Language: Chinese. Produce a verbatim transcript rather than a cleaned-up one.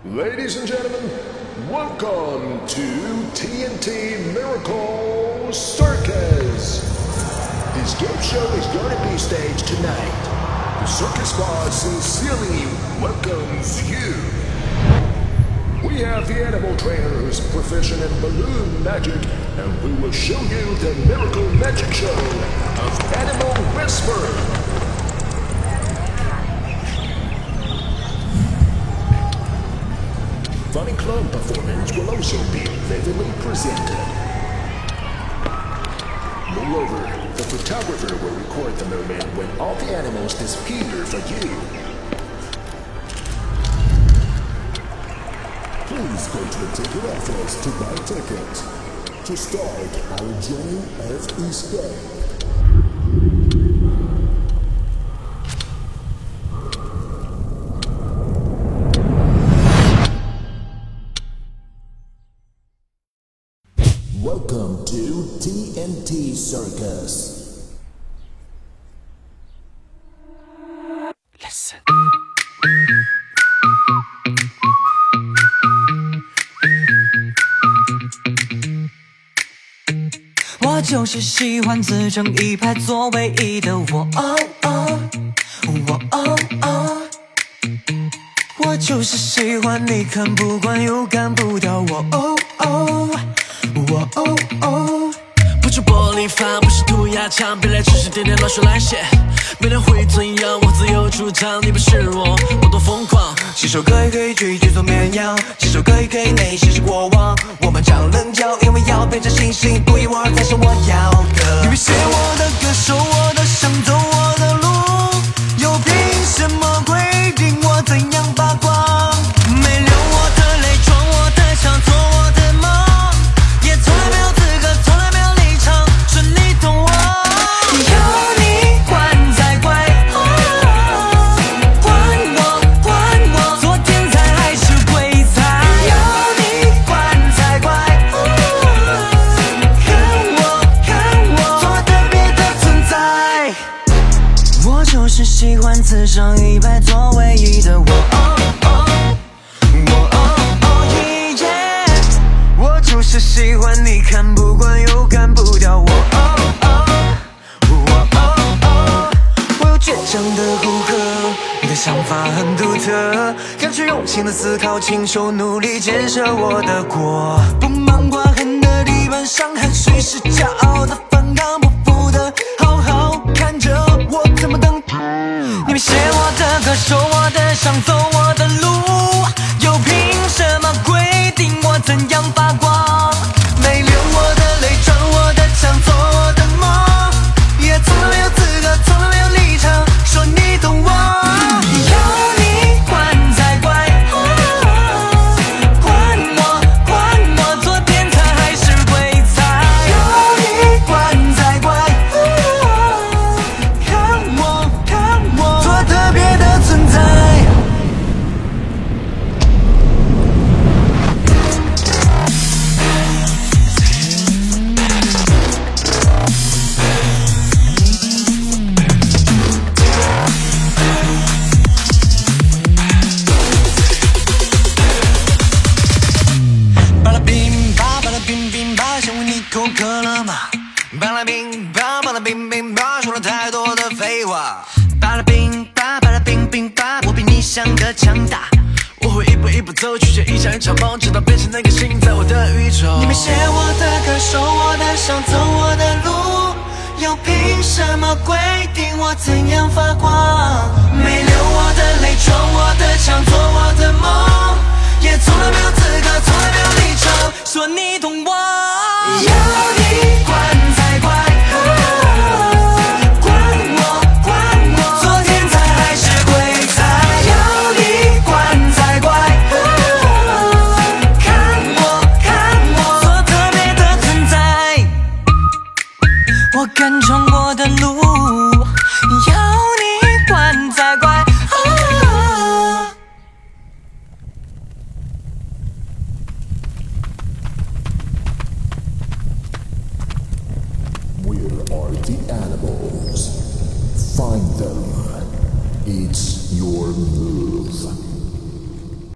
Ladies and gentlemen, welcome to T N T Miracle Circus. This game show is going to be staged tonight. The circus boss sincerely welcomes you. We have the animal trainer who's proficient in balloon magic, and we will show you the miracle magic show of Animal Whisper. Funny clown performance will also be vividly presented. Moreover, the photographer will record the moment when all the animals disappear for you. Please go to the ticket office to buy tickets to start our journey of escape. Welcome to T N T Circus. Listen. 我就是喜欢自成一派做唯一的我，哦哦，我哦哦，我就是喜欢你看不惯又干不掉我，哦哦。我哦哦，不是玻璃碴，不是涂鸦墙，别来只是点点乱说乱写。没人会怎样，我自由主张，你不是我，我多疯狂。写首歌也可以去去做绵羊，写首歌也可以内心是过往。我们常棱角，因为要变成星星，独一无二才是我要的。你别写我的歌，受我的伤，走我的路，又凭什么规定我怎样发光？没流我的泪，撞我的墙，做我的梦。从来没有资格，从来没有立场，是你懂我。有你管才怪，哦、管我管我，做天才还是鬼才？有你管才怪，哦、看我看我，做特别的存在。我就是喜欢自上一排做唯一的我。哦哦就是喜欢你看不惯又干不掉我，哦哦哦哦，我有倔强的骨骼，你的想法很独特，感觉用心的思考，亲手努力建设我的国，不忙挂痕的地板上，汗水是骄傲的反抗，不服的好好看着我怎么等。你别写我的歌，受我的伤，走我的路，又凭什么规定我怎样发光？没流我的泪，撞我的墙，做我的梦，也从来没有资格，从来没有立场，说你懂我。有你管才怪，哦、管我管我，做天才还是鬼才？有你管才怪，哦、看我看我，做特别的存在。口渴了吗？巴拉冰吧，巴拉冰冰吧，说了太多的废话。巴拉冰吧，巴拉冰冰吧，我比你想的强大。我会一步一步走，去写一场一场梦，直到变成那个星在我的宇宙。你没写我的歌，受我的伤，走我的路，又凭什么规定我怎样发光？没流我的泪，撞我的墙，做